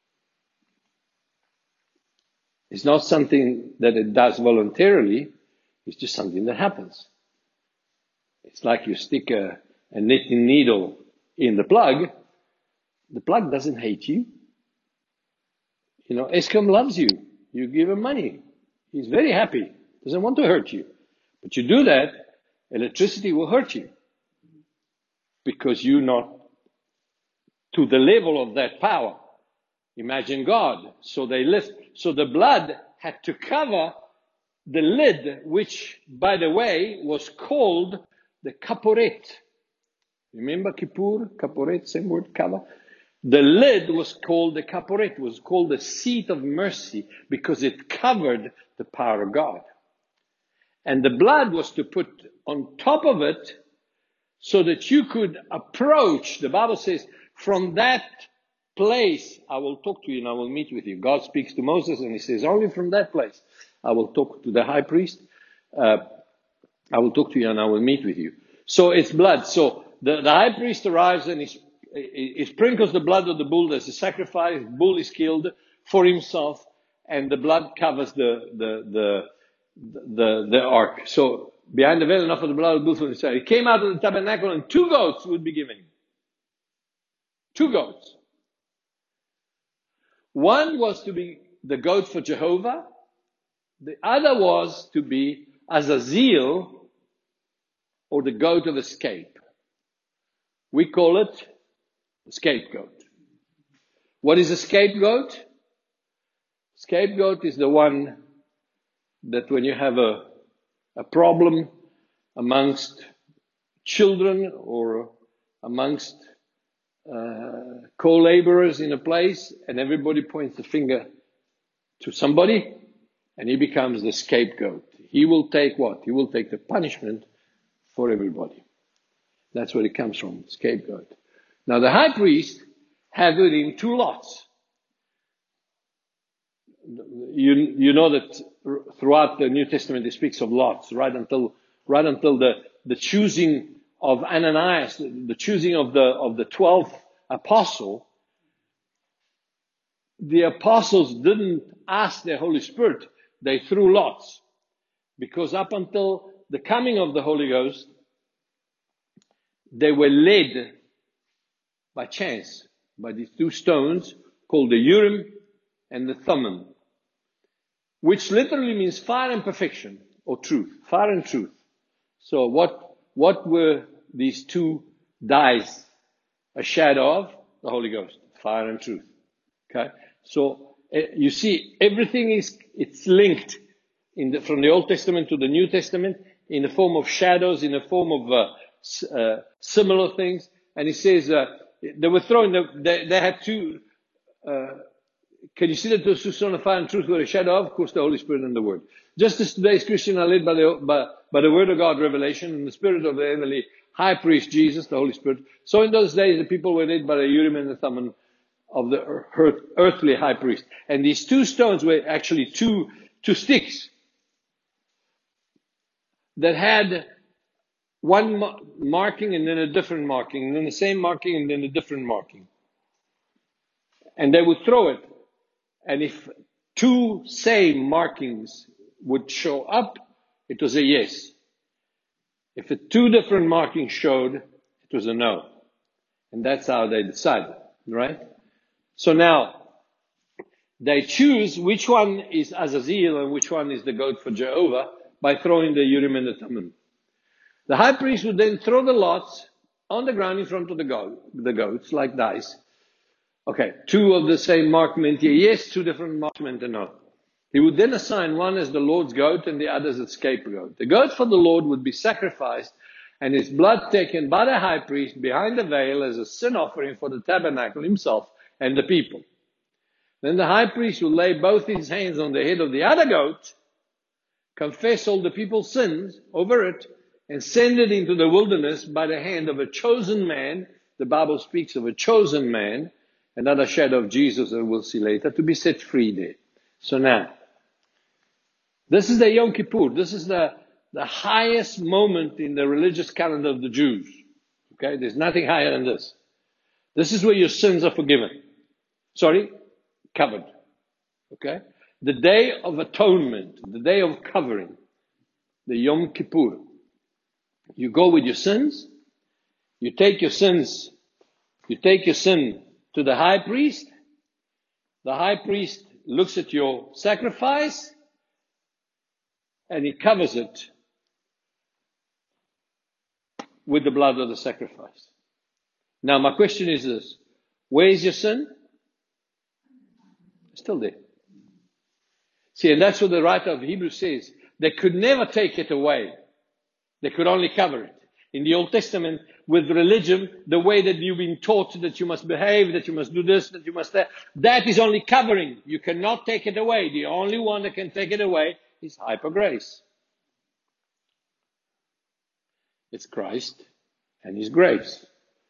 [SPEAKER 1] It's not something that it does voluntarily. It's just something that happens. It's like you stick a, a knitting needle in the plug. The plug doesn't hate you. You know, Eskom loves you. You give him money. He's very happy. Doesn't want to hurt you. But you do that, electricity will hurt you. Because you're not to the level of that power. Imagine God. So they lift. So the blood had to cover the lid, which, by the way, was called the kaporet. Remember Kippur? Kaporet, same word, cover. The lid was called the kaporet, was called the seat of mercy, because it covered the power of God. And the blood was to put on top of it so that you could approach. The Bible says, from that place, I will talk to you and I will meet with you. God speaks to Moses and he says, only from that place I will talk to the high priest. uh, I will talk to you and I will meet with you. So it's blood. So the, the high priest arrives and he, he, he sprinkles the blood of the bull as a sacrifice. The bull is killed for himself, and the blood covers the the the the, the ark. So behind the veil, enough of the blood of the bull for himself. He came out of the tabernacle, and two goats would be given. Two goats. One was to be the goat for Jehovah. The other was to be Azazel, or the goat of escape. We call it the scapegoat. What is a scapegoat? Scapegoat is the one that when you have a, a problem amongst children or amongst uh, co-laborers in a place, and everybody points the finger to somebody, and he becomes the scapegoat. He will take what? He will take the punishment for everybody. That's where it comes from, scapegoat. Now the high priest had with him two lots. You, you know that throughout the New Testament it speaks of lots, right until right until the, the choosing of Ananias, the, the choosing of the of the twelfth apostle. The apostles didn't ask the Holy Spirit, they threw lots. Because up until the coming of the Holy Ghost, they were led by chance, by these two stones called the Urim and the Thummim, which literally means fire and perfection, or truth, fire and truth. So what, what were these two dies a shadow of? The Holy Ghost, fire and truth. Okay? So uh, you see, everything is, it's linked in the, from the Old Testament to the New Testament in the form of shadows, in the form of uh, uh, similar things. And he says, uh, they were throwing, they, they had two, uh, can you see that those two stones of fire and truth were a shadow of? Of course, the Holy Spirit and the Word. Just as today's Christians are led by the, by, by the Word of God revelation and the Spirit of the heavenly high priest, Jesus, the Holy Spirit. So in those days, the people were led by the Urim and the Thummim of the earth, earthly high priest. And these two stones were actually two, two sticks that had one marking and then a different marking, and then the same marking and then a different marking. And they would throw it. And if two same markings would show up, it was a yes. If the two different markings showed, it was a no. And that's how they decided, right? So now, they choose which one is Azazel and which one is the goat for Jehovah by throwing the Urim and the Thummim. The high priest would then throw the lots on the ground in front of the, goat, the goats, like dice. Okay, two of the same mark meant yes, two different marks meant a no. He would then assign one as the Lord's goat and the other as the scapegoat. The goat for the Lord would be sacrificed and his blood taken by the high priest behind the veil as a sin offering for the tabernacle himself and the people. Then the high priest would lay both his hands on the head of the other goat, confess all the people's sins over it, and send it into the wilderness by the hand of a chosen man. The Bible speaks of a chosen man, another shadow of Jesus that we'll see later, to be set free there. So now, this is the Yom Kippur. This is the, the highest moment in the religious calendar of the Jews. Okay, there's nothing higher than this. This is where your sins are forgiven. Sorry, covered. Okay? The Day of Atonement, the Day of Covering, the Yom Kippur. You go with your sins, you take your sins, you take your sin to the high priest. The high priest looks at your sacrifice and he covers it with the blood of the sacrifice. Now my question is this: where is your sin? It's still there. See, and that's what the writer of Hebrews says. They could never take it away. They could only cover it. In the Old Testament, with religion, the way that you've been taught that you must behave, that you must do this, that you must that, that is only covering. You cannot take it away. The only one that can take it away is hyper grace. It's Christ and His grace.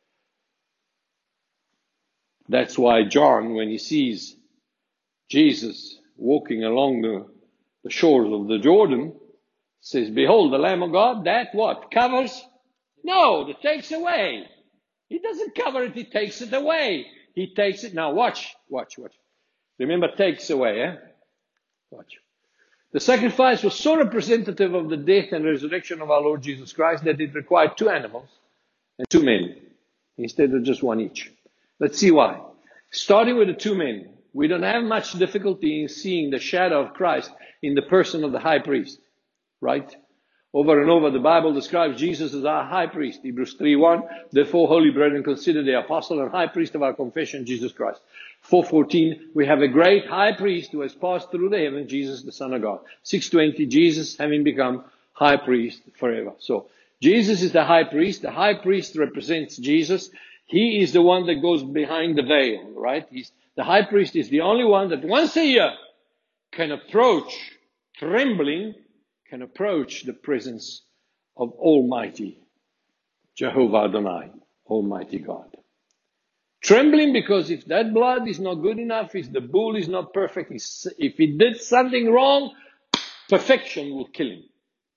[SPEAKER 1] That's why John, when he sees Jesus walking along the, the shores of the Jordan, says, behold, the Lamb of God, that what? Covers? No, that takes away. He doesn't cover it, he takes it away. He takes it. Now watch, watch, watch. Remember, takes away, eh? Watch. The sacrifice was so representative of the death and resurrection of our Lord Jesus Christ that it required two animals and two men instead of just one each. Let's see why. Starting with the two men, we don't have much difficulty in seeing the shadow of Christ in the person of the high priest, right? Over and over, the Bible describes Jesus as our high priest. Hebrews three one, therefore, holy brethren, consider the apostle and high priest of our confession, Jesus Christ. four fourteen, we have a great high priest who has passed through the heaven, Jesus, the Son of God. six twenty, Jesus having become high priest forever. So, Jesus is the high priest. The high priest represents Jesus. He is the one that goes behind the veil, right? He's, the high priest is the only one that once a year can approach, trembling, can approach the presence of Almighty Jehovah Adonai, Almighty God. Trembling because if that blood is not good enough, if the bull is not perfect, if he did something wrong, perfection will kill him.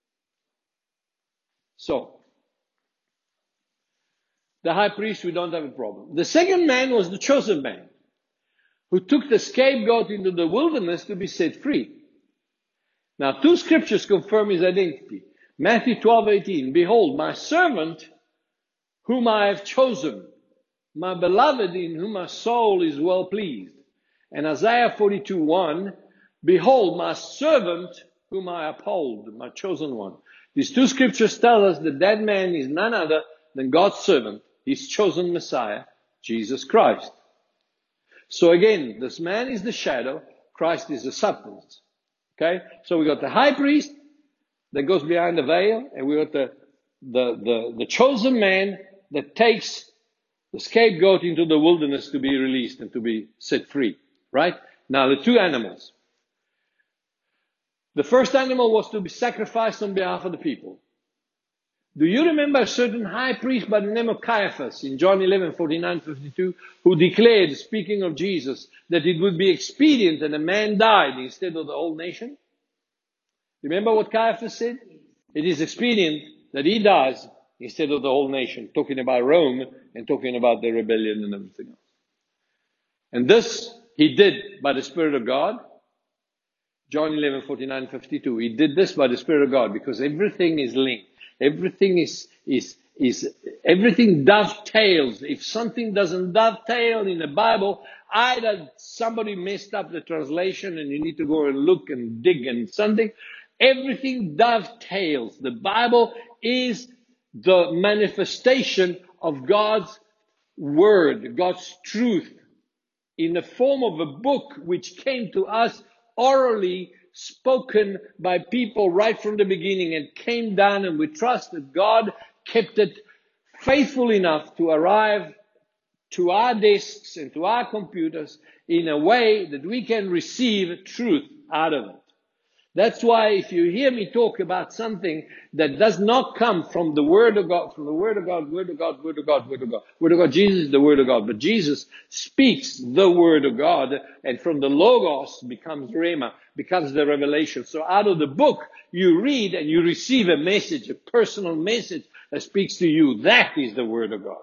[SPEAKER 1] So, the high priest, we don't have a problem. The second man was the chosen man, who took the scapegoat into the wilderness to be set free. Now, two scriptures confirm his identity. Matthew twelve eighteen, behold, my servant, whom I have chosen, my beloved, in whom my soul is well pleased. And Isaiah forty-two one, behold, my servant, whom I uphold, my chosen one. These two scriptures tell us that that man is none other than God's servant, his chosen Messiah, Jesus Christ. So again, this man is the shadow, Christ is the substance. Okay? So we got the high priest that goes behind the veil, and we got the, the, the, the chosen man that takes the scapegoat into the wilderness to be released and to be set free. Right? Now the two animals. The first animal was to be sacrificed on behalf of the people. Do you remember a certain high priest by the name of Caiaphas in John eleven forty-nine fifty-two, who declared, speaking of Jesus, that it would be expedient that a man died instead of the whole nation? Remember what Caiaphas said? It is expedient that he dies instead of the whole nation, talking about Rome and talking about the rebellion and everything else. And this he did by the Spirit of God. John eleven forty-nine fifty-two. He did this by the Spirit of God because everything is linked. Everything is, is, is, everything dovetails. If something doesn't dovetail in the Bible, either somebody messed up the translation and you need to go and look and dig and something. Everything dovetails. The Bible is the manifestation of God's word, God's truth, in the form of a book which came to us orally, spoken by people right from the beginning, and came down, and we trust that God kept it faithful enough to arrive to our desks and to our computers in a way that we can receive truth out of it. That's why if you hear me talk about something that does not come from the Word of God, from the Word of God, Word of God, Word of God, Word of God, Word of God, Jesus is the Word of God, but Jesus speaks the Word of God, and from the Logos becomes Rhema, becomes the revelation. So out of the book, you read and you receive a message, a personal message that speaks to you. That is the Word of God.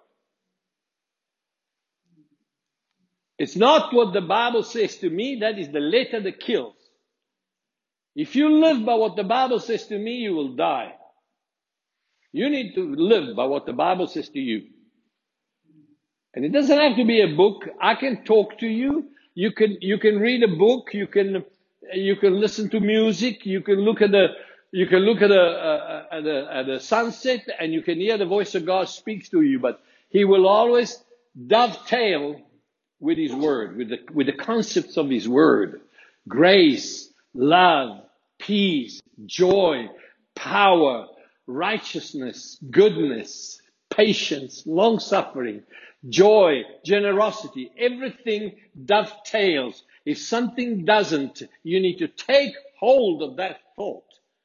[SPEAKER 1] It's not what the Bible says to me, that is the letter that kills. If you live by what the Bible says to me, you will die. You need to live by what the Bible says to you. And it doesn't have to be a book. I can talk to you. You can, you can read a book. You can, you can listen to music. You can look at the, you can look at a, a, at a, at a sunset, and you can hear the voice of God speaks to you. But He will always dovetail with His Word, with the, with the concepts of His Word. Grace, love, peace, joy, power, righteousness, goodness, patience, long-suffering, joy, generosity. Everything dovetails. If something doesn't, you need to take hold of that thought.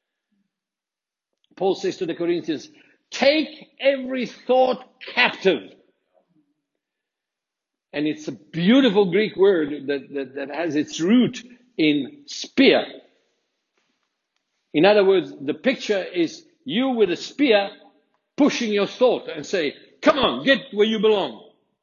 [SPEAKER 1] Paul says to the Corinthians, take every thought captive. And it's a beautiful Greek word that, that, that has its root in spear, In other words, the picture is you with a spear pushing your sword and say, come on, get where you belong.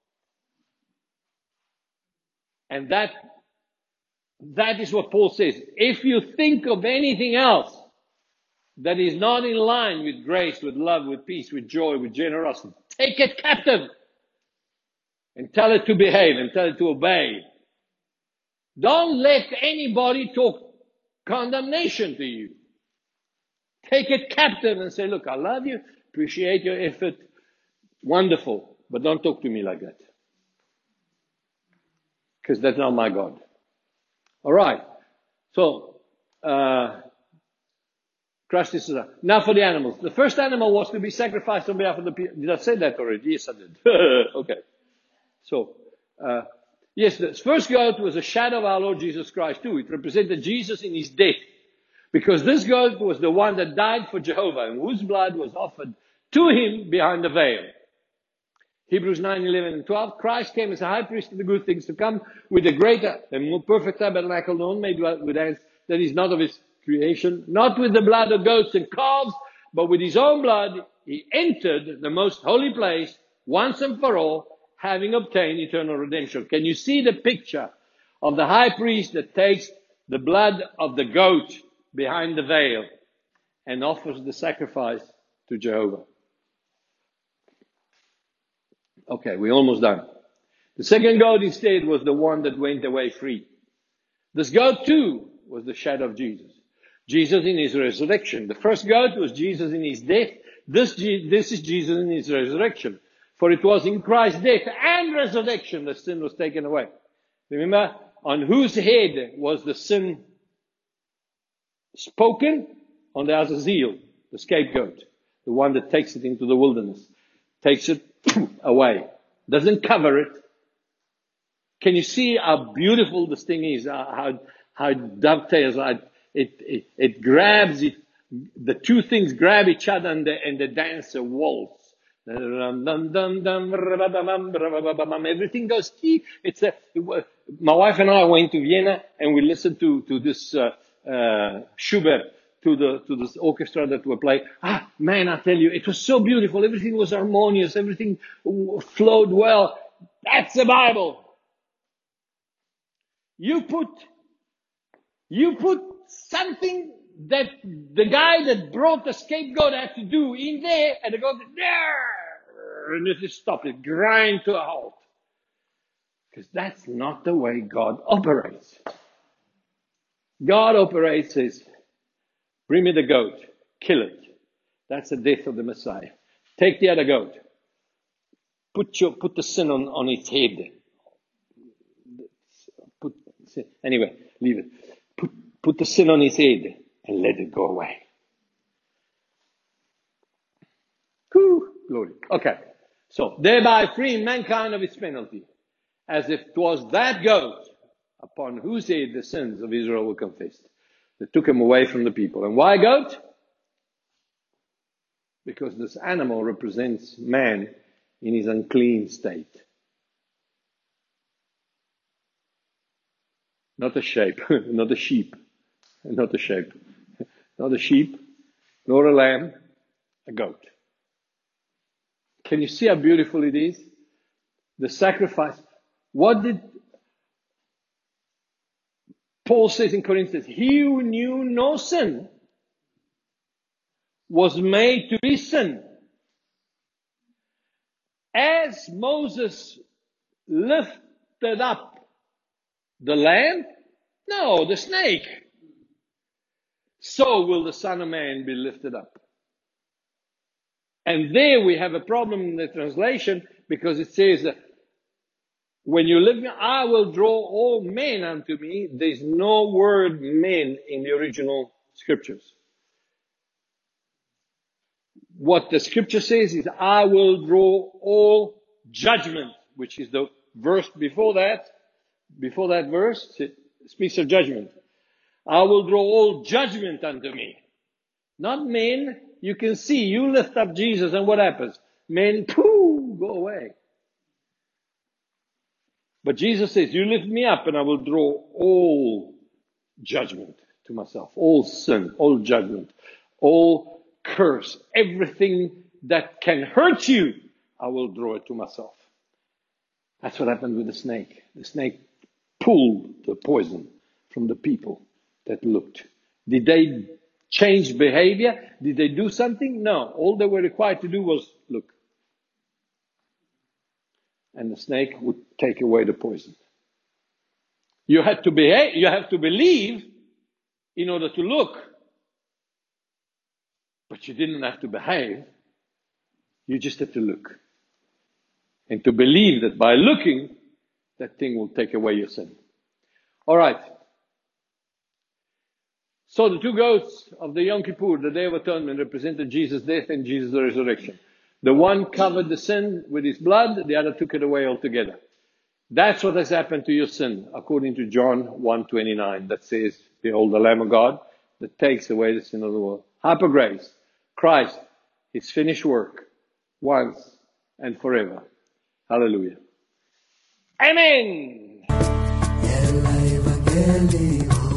[SPEAKER 1] And that, that is what Paul says. If you think of anything else that is not in line with grace, with love, with peace, with joy, with generosity, take it captive and tell it to behave and tell it to obey. Don't let anybody talk condemnation to you. Take it captive and say, look, I love you, appreciate your effort, wonderful, but don't talk to me like that. Because that's not my God. All right. So, uh, crush this aside. Now for the animals. The first animal was to be sacrificed on behalf of the people. Did I say that already? Yes, I did. Okay. So, uh, yes, the first goat was a shadow of our Lord Jesus Christ too. It represented Jesus in his death. Because this goat was the one that died for Jehovah and whose blood was offered to him behind the veil. Hebrews nine, eleven and twelve. Christ came as a high priest of the good things to come with a greater and more perfect tabernacle, not made with hands, that is not of his creation, not with the blood of goats and calves, but with his own blood he entered the most holy place once and for all, having obtained eternal redemption. Can you see the picture of the high priest that takes the blood of the goat behind the veil and offers the sacrifice to Jehovah? Okay, we're almost done. The second goat instead was the one that went away free. This goat too was the shadow of Jesus. Jesus in his resurrection. The first goat was Jesus in his death. This, this is Jesus in his resurrection. For it was in Christ's death and resurrection that sin was taken away. Remember, on whose head was the sin spoken? On the Azazel, the scapegoat. The one that takes it into the wilderness. Takes it away. Doesn't cover it. Can you see how beautiful this thing is? How, how it dovetails. How it, it, it grabs it. The two things grab each other and the, and the dancer waltz. Everything goes. It's a, my wife and I went to Vienna and we listened to, to this, uh, uh, Schubert, to the, to this orchestra that were playing. Ah, man, I tell you, it was so beautiful. Everything was harmonious. Everything flowed well. That's the Bible. You put, you put something that the guy that brought the scapegoat had to do in there, and the goat there, and it just stopped it, grind to a halt. Because that's not the way God operates. God operates as, bring me the goat, kill it. That's the death of the Messiah. Take the other goat. Put your, put the sin on, on its head. Put, anyway, leave it. Put, put the sin on his head and let it go away. Whew, glory. Okay. So, thereby freeing mankind of its penalty, as if it was that goat upon whose head the sins of Israel were confessed, that took him away from the people. And why goat? Because this animal represents man in his unclean state. Not a shape, not a sheep, not a shape, not a sheep, nor a lamb, a goat. Can you see how beautiful it is? The sacrifice. What did Paul says in Corinthians? He who knew no sin was made to be sin. As Moses lifted up the lamb, no, the snake, so will the Son of Man be lifted up. And there we have a problem in the translation, because it says, when you live, I will draw all men unto me. There's no word men in the original scriptures. What the scripture says is, I will draw all judgment, which is the verse before that. Before that verse, it speaks of judgment. I will draw all judgment unto me. Not men. You can see, you lift up Jesus and what happens? Men, pooh, go away. But Jesus says, you lift me up and I will draw all judgment. to myself. All sin, all judgment, all curse, everything that can hurt you, I will draw it to myself. That's what happened with the snake. The snake pulled the poison from the people that looked. Did they change behavior? Did they do something? No. All they were required to do was look. And the snake would take away the poison. You had to behave, you have to believe in order to look. But you didn't have to behave. You just had to look. And to believe that by looking, that thing will take away your sin. All right. So the two goats of the Yom Kippur, the Day of Atonement, represented Jesus' death and Jesus' resurrection. The one covered the sin with his blood, the other took it away altogether. That's what has happened to your sin, according to John one twenty-nine, that says, behold the Lamb of God that takes away the sin of the world. Hyper grace, Christ, his finished work, once and forever. Hallelujah. Amen.